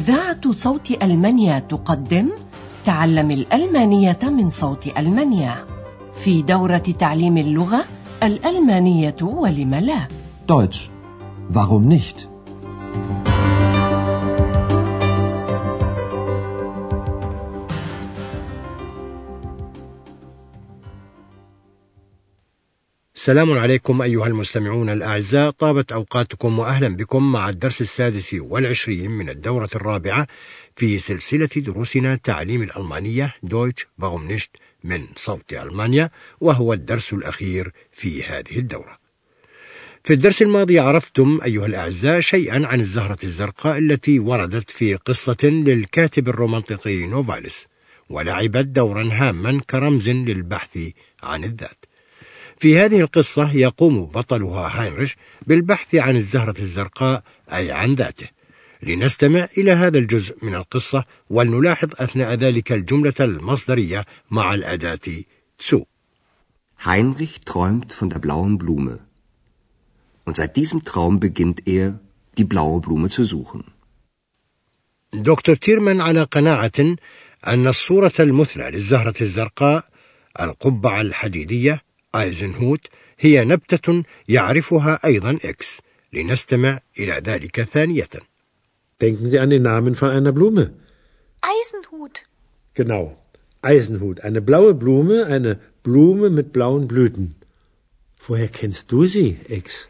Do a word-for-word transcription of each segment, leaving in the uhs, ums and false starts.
إذاعة صوت ألمانيا تقدم تعلم الألمانية من صوت ألمانيا في دورة تعليم اللغة الألمانية ولم لا. Deutsch. Warum nicht? السلام عليكم أيها المستمعون الأعزاء، طابت أوقاتكم وأهلا بكم مع الدرس السادس والعشرين من الدورة الرابعة في سلسلة دروسنا تعليم الألمانية Deutsch warum nicht من صوت ألمانيا، وهو الدرس الأخير في هذه الدورة. في الدرس الماضي عرفتم أيها الأعزاء شيئا عن الزهرة الزرقاء التي وردت في قصة للكاتب الرومانطيقي نوفاليس، ولعبت دورا هاما كرمز للبحث عن الذات. في هذه القصة يقوم بطلها هاينريش بالبحث عن الزهرة الزرقاء أي عن ذاته. لنستمع إلى هذا الجزء من القصة ولنلاحظ أثناء ذلك الجملة المصدرية مع الأداة zu. Heinrich träumt von der blauen Blume. Und seit diesem Traum beginnt er, die blaue Blume zu suchen. دكتور تيرمان على قناعة أن الصورة المثلى للزهرة الزرقاء القبعة الحديدية آيزنهوت هي نبتة يعرفها أيضا إكس. لنستمع إلى ذلك ثانية. Denken Sie an den Namen von einer Blume. Eisenhut. Genau, Eisenhut. Eine blaue Blume, eine Blume mit blauen Blüten. Woher kennst du sie, Ex?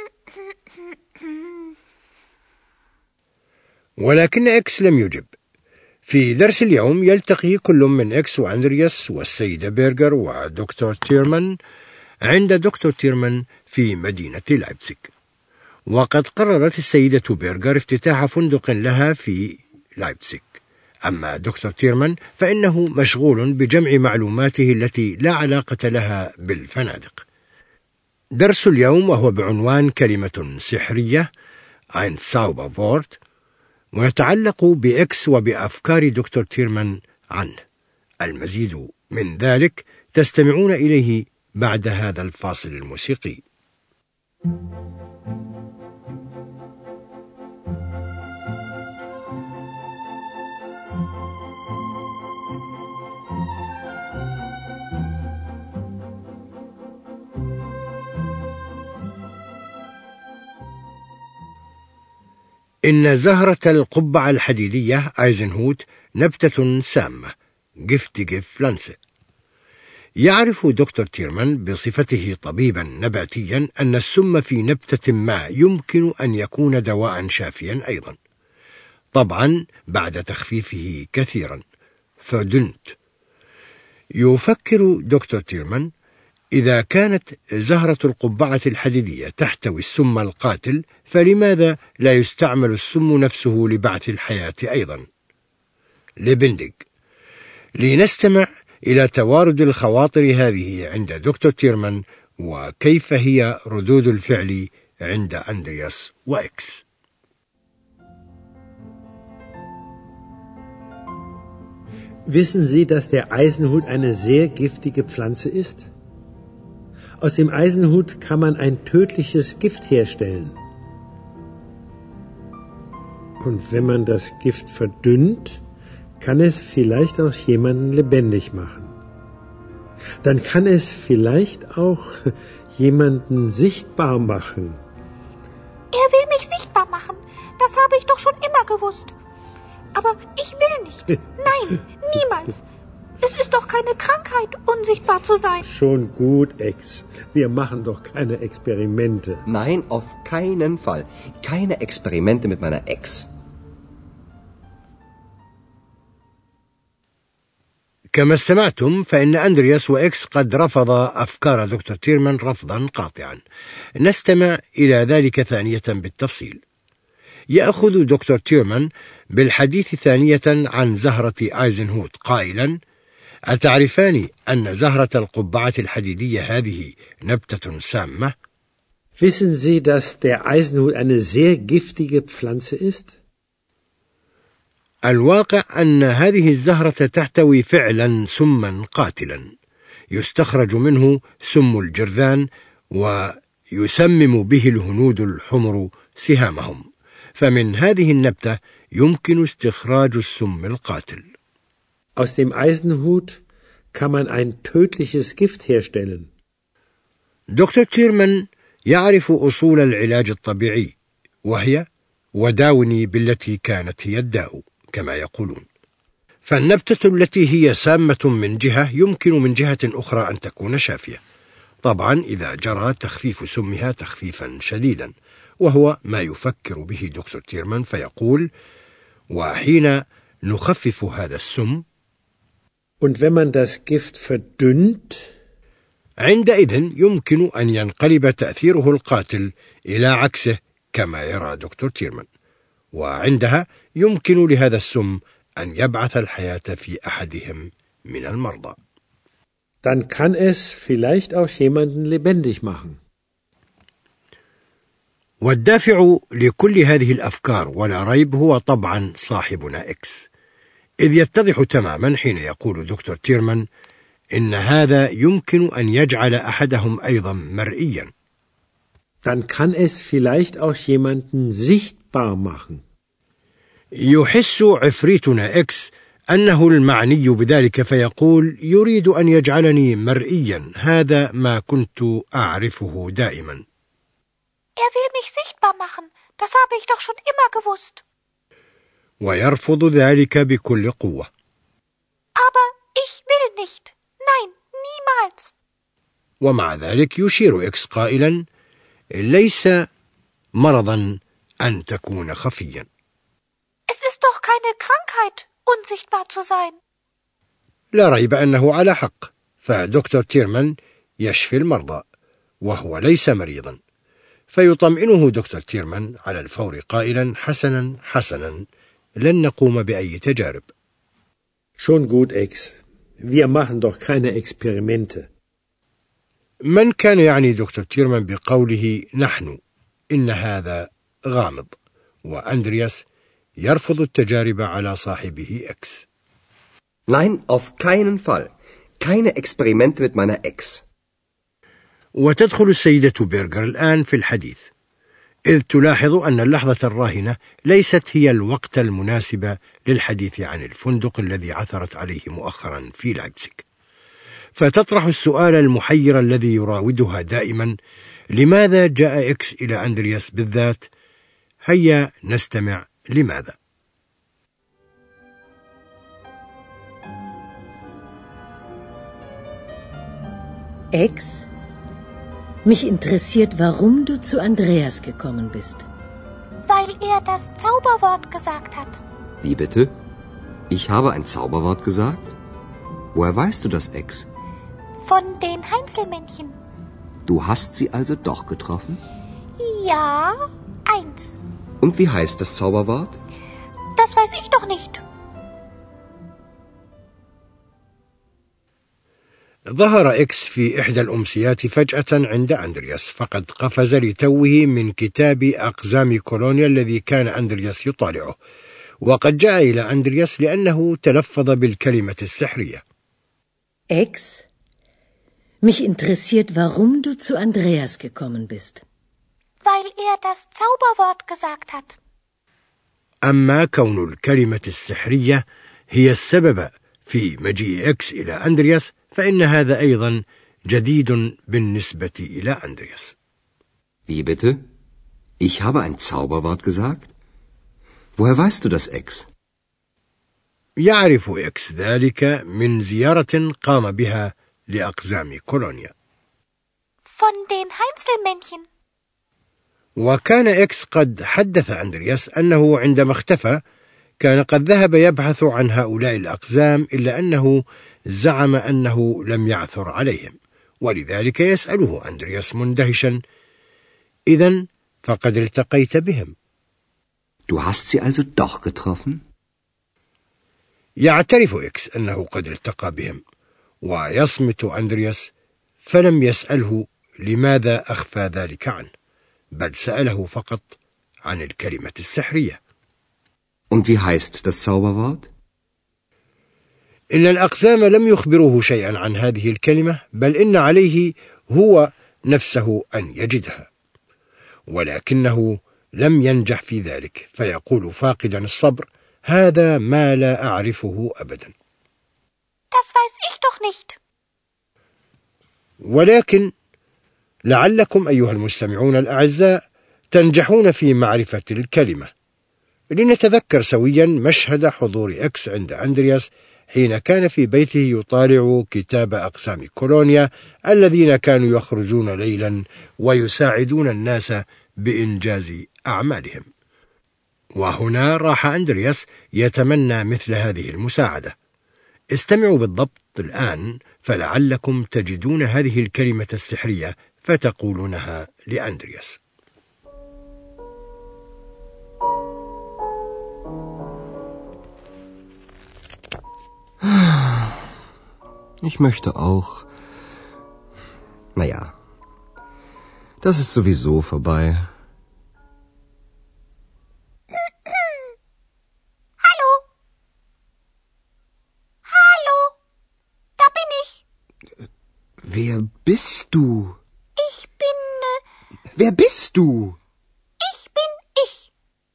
ولكن إكس لم يجب. في درس اليوم يلتقي كل من إكس وأندرياس والسيدة بيرغر ودكتور تيرمان عند دكتور تيرمان في مدينة لايبزيغ. وقد قررت السيدة بيرغر افتتاح فندق لها في لايبزيغ، أما دكتور تيرمان فإنه مشغول بجمع معلوماته التي لا علاقة لها بالفنادق. درس اليوم وهو بعنوان كلمة سحرية ein Zauberwort، ويتعلق بإكس وبأفكار دكتور تيرمان عنه. المزيد من ذلك تستمعون إليه بعد هذا الفاصل الموسيقي. إن زهرة القبعة الحديدية آيزنهوت نبتة سامة giftige Pflanze. يعرف دكتور تيرمان بصفته طبيبا نباتيا أن السم في نبتة ما يمكن أن يكون دواء شافيا أيضا، طبعا بعد تخفيفه كثيرا فدنت. يفكر دكتور تيرمان إذا كانت زهرة القبعة الحديدية تحتوي السم القاتل، فلماذا لا يستعمل السم نفسه لبعث الحياة أيضا؟ لبندق. لنستمع إلى توارد الخواطر هذه عند دكتور تيرمان وكيف هي ردود الفعل عند أندرياس وإكس. Wissen Sie, dass der Eisenhut eine sehr giftige Pflanze ist? Aus dem Eisenhut kann man ein tödliches Gift herstellen. Und wenn man das Gift verdünnt, kann es vielleicht auch jemanden lebendig machen. Dann kann es vielleicht auch jemanden sichtbar machen. Er will mich sichtbar machen. Das habe ich doch schon immer gewusst. Aber ich will nicht. Nein, niemals. Es ist doch keine Krankheit, unsichtbar zu sein. Schon gut, Ex. Wir machen doch keine Experimente. Nein, auf keinen Fall. Keine Experimente mit meiner Ex. كما استمعتم فإن أندرياس وإكس قد رفض أفكار دكتور تيرمان رفضا قاطعا. نستمع إلى ذلك ثانية بالتفصيل. يأخذ دكتور تيرمان بالحديث ثانية عن زهرة آيزنهوت قائلا: أتعرفان أن زهرة القبعة الحديدية هذه نبتة سامة؟ Wissen Sie, dass der Eisenhut eine sehr giftige Pflanze ist? الواقع أن هذه الزهرة تحتوي فعلا سما قاتلا يستخرج منه سم الجرذان ويسمم به الهنود الحمر سهامهم، فمن هذه النبتة يمكن استخراج السم القاتل. Aus dem Eisenhut kann man ein tödliches Gift herstellen. دكتور تيرمان يعرف أصول العلاج الطبيعي، وهي وداوني بالتي كانت هي الداء كما يقولون. فالنبتة التي هي سامة من جهة يمكن من جهة أخرى أن تكون شافية، طبعا إذا جرى تخفيف سمها تخفيفا شديدا، وهو ما يفكر به دكتور تيرمان فيقول: وحين نخفف هذا السم Und wenn man das Gift verdünnt, عندئذ يمكن أن ينقلب تأثيره القاتل إلى عكسه كما يرى دكتور تيرمان، وعندها يمكن لهذا السم أن يبعث الحياة في أحدهم من المرضى. dann kann es vielleicht auch jemanden lebendig machen. والدافع لكل هذه الأفكار ولا ريب هو طبعا صاحبنا إكس، إذ يتضح تماما حين يقول دكتور تيرمان إن هذا يمكن أن يجعل أحدهم أيضا مرئيا. Dann kann es vielleicht auch jemanden sichtbar machen. يحس عفريتنا إكس أنه المعني بذلك فيقول: يريد أن يجعلني مرئيا، هذا ما كنت أعرفه دائما. Er will mich sichtbar machen. Das habe ich doch schon immer gewusst. ويرفض ذلك بكل قوة. Aber ich will nicht. Nein, niemals. ومع ذلك يشير إكس قائلا: ليس مرضا أن تكون خفيا. Es ist doch keine Krankheit, unsichtbar zu sein. لا ريب أنه على حق، فدكتور تيرمان يشفي المرضى وهو ليس مريضا، فيطمئنه دكتور تيرمان على الفور قائلا: حسنا حسنا، لن نقوم بأي تجارب. Schon gut, Ex. Wir machen doch keine Experimente. من كان يعني دكتور تيرمان بقوله نحن؟ إن هذا غامض، وأندرياس يرفض التجارب على صاحبه إكس. Nein, auf keinen Fall. Keine Experimente mit meiner Ex. وتدخل السيدة بيرغر الآن في الحديث، إذ تلاحظ أن اللحظة الراهنة ليست هي الوقت المناسب للحديث عن الفندق الذي عثرت عليه مؤخرا في لايبزيغ، فتطرح السؤال المحير الذي يراودها دائما: لماذا جاء إكس إلى أندرياس بالذات؟ هيا نستمع لماذا. Ex, mich interessiert, warum du zu Andreas gekommen bist. Weil er das Zauberwort gesagt hat. Wie bitte? Ich habe ein Zauberwort gesagt? Woher weißt du das, Ex? Von den Heinzelmännchen. Du hast sie also doch getroffen? Ja, eins. Und wie heißt das Zauberwort? Das weiß ich doch nicht. ظهر إكس في إحدى الأمسيات فجأة عند أندرياس، فقد قفز لتوه من كتاب أقزام كولونيا الذي كان أندرياس يطالعه، وقد جاء إلى أندرياس لأنه تلفظ بالكلمة السحرية. Ex, mich interessiert, warum du zu Andreas gekommen bist. Weil er das Zauberwort gesagt hat. أما كون الكلمة السحرية هي السبب في مجيء إكس إلى أندرياس فإن هذا أيضا جديد بالنسبة إلى أندرياس. Wie bitte? Ich habe ein Zauberwort gesagt? Woher weißt du das, Ex? يعرف إكس ذلك من زيارة قام بها لأقزام كولونيا. Von den Heinzelmännchen. وكان إكس قد حدث أندرياس أنه عندما اختفى كان قد ذهب يبحث عن هؤلاء الأقزام، إلا أنه زعم أنه لم يعثر عليهم، ولذلك يسأله أندرياس مندهشا: إذن فقد التقيت بهم. Du hast sie also doch getroffen? يعترف إكس أنه قد التقى بهم، ويصمت أندرياس، فلم يسأله لماذا أخفى ذلك عنه، بل سأله فقط عن الكلمة السحرية. Und wie heißt das Zauberwort? إن الأقزام لم يخبروه شيئا عن هذه الكلمة، بل إن عليه هو نفسه أن يجدها، ولكنه لم ينجح في ذلك، فيقول فاقدا الصبر: هذا ما لا أعرفه أبدا. Das weiß ich doch nicht. ولكن لعلكم أيها المستمعون الأعزاء تنجحون في معرفة الكلمة. لنتذكر سويا مشهد حضور إكس عند أندرياس حين كان في بيته يطالع كتاب أقسام كولونيا الذين كانوا يخرجون ليلا ويساعدون الناس بإنجاز أعمالهم. وهنا راح أندرياس يتمنى مثل هذه المساعدة. استمعوا بالضبط الآن فلعلكم تجدون هذه الكلمة السحرية فتقولونها لأندرياس. Ich möchte auch. Naja, das ist sowieso vorbei. Hallo? Hallo? Da bin ich. Wer bist du? Ich bin... Äh, Wer bist du? ich bin ich.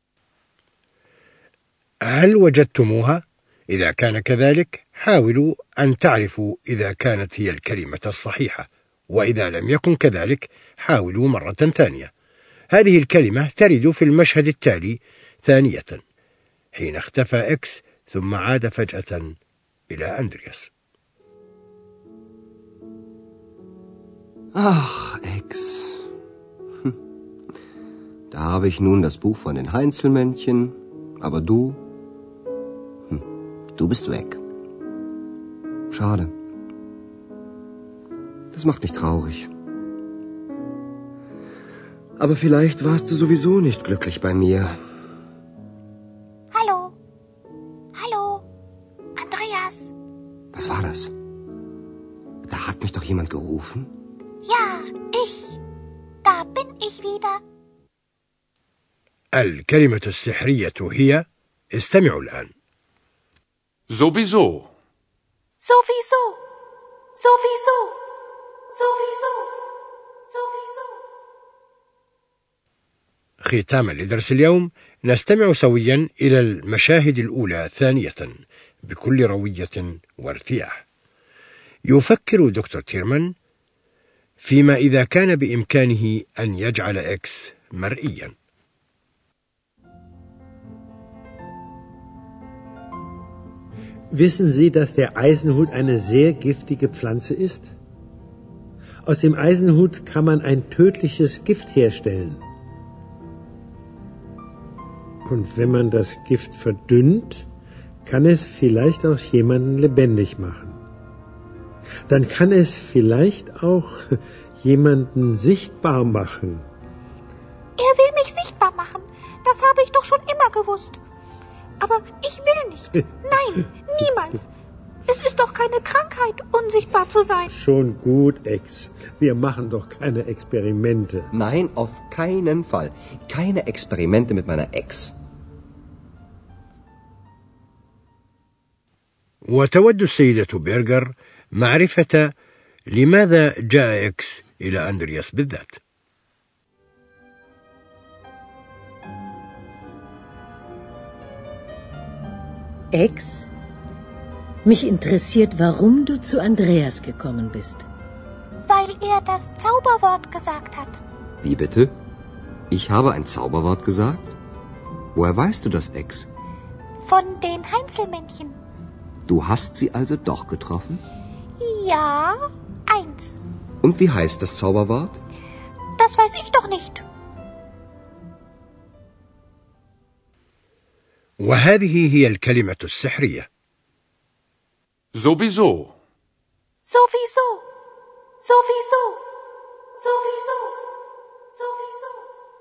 هل وجدتموها؟ إذا كان كذلك حاولوا أن تعرفوا إذا كانت هي الكلمة الصحيحة، وإذا لم يكن كذلك حاولوا مرة ثانية. هذه الكلمة ترد في المشهد التالي ثانية حين اختفى إكس ثم عاد فجأة إلى أندرياس. Ach, Ex. Da habe ich nun das Buch von den Heinzelmännchen, aber du, hm, du bist weg. Schade. Das macht mich traurig. Aber vielleicht warst du sowieso nicht glücklich bei mir. Hallo? Hallo? Andreas? Was war das? Da hat mich doch jemand gerufen. Ja, ich. Da bin ich wieder. الكلمة السحرية هي، استمعوا الآن. Sowieso. Sowieso. Sowieso. Sowieso. Sowieso. ختاما لدرس اليوم نستمع سويا إلى المشاهد الأولى ثانية بكل روية وارتياح. يفكر دكتور تيرمان فيما إذا كان بإمكانه أن يجعل إكس مرئيا. Wissen Sie, dass der Eisenhut eine sehr giftige Pflanze ist? Aus dem Eisenhut kann man ein tödliches Gift herstellen. Und wenn man das Gift verdünnt, kann es vielleicht auch jemanden lebendig machen. Dann kann es vielleicht auch jemanden sichtbar machen. Er will mich sichtbar machen. Das habe ich doch schon immer gewusst. Aber ich will nicht. Nein, niemals. Es ist doch keine Krankheit, unsichtbar zu sein. Schon gut, Ex. Wir machen doch keine Experimente. Nein, auf keinen Fall. Keine Experimente mit meiner Ex. وتود السيدة بيرغر معرفة لماذا جاء إكس إلى أندرياس بالذات. Ex, mich interessiert, warum du zu Andreas gekommen bist. Weil er das Zauberwort gesagt hat. Wie bitte? Ich habe ein Zauberwort gesagt? Woher weißt du das, Ex? Von den Heinzelmännchen. Du hast sie also doch getroffen? Ja, eins. Und wie heißt das Zauberwort? Das weiß ich doch nicht. وهذه هي الكلمة السحرية. Sowieso. Sowieso. Sowieso. Sowieso. Sowieso.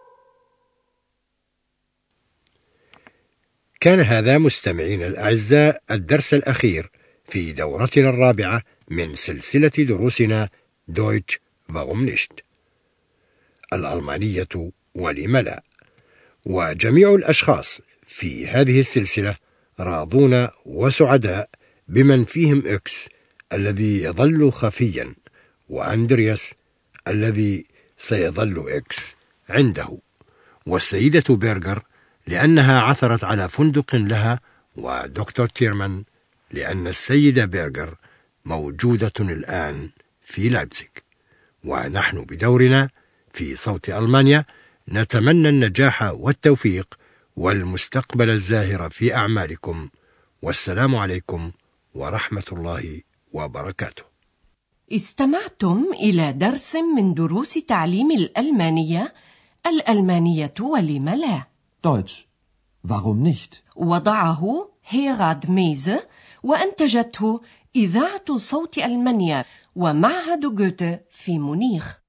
كان هذا مستمعين الأعزاء الدرس الأخير في دورتنا الرابعة من سلسلة دروسنا دويتش warum nicht الألمانية ولم لا. وجميع الأشخاص في هذه السلسلة راضون وسعداء بمن فيهم إكس الذي يظل خفيا وأندرياس الذي سيظل إكس عنده. والسيدة بيرغر لأنها عثرت على فندق لها، ودكتور تيرمان لأن السيدة بيرغر موجودة الآن في لايبزيغ. ونحن بدورنا في صوت ألمانيا نتمنى النجاح والتوفيق والمستقبل الزاهر في أعمالكم، والسلام عليكم ورحمة الله وبركاته. استمعتم إلى درس من دروس تعليم الألمانية، الألمانية ولم لا. Deutsch. Warum nicht? وضعه هيراد ميزه، وأنتجته إذاعة صوت ألمانيا ومعهد جوته في مونيخ.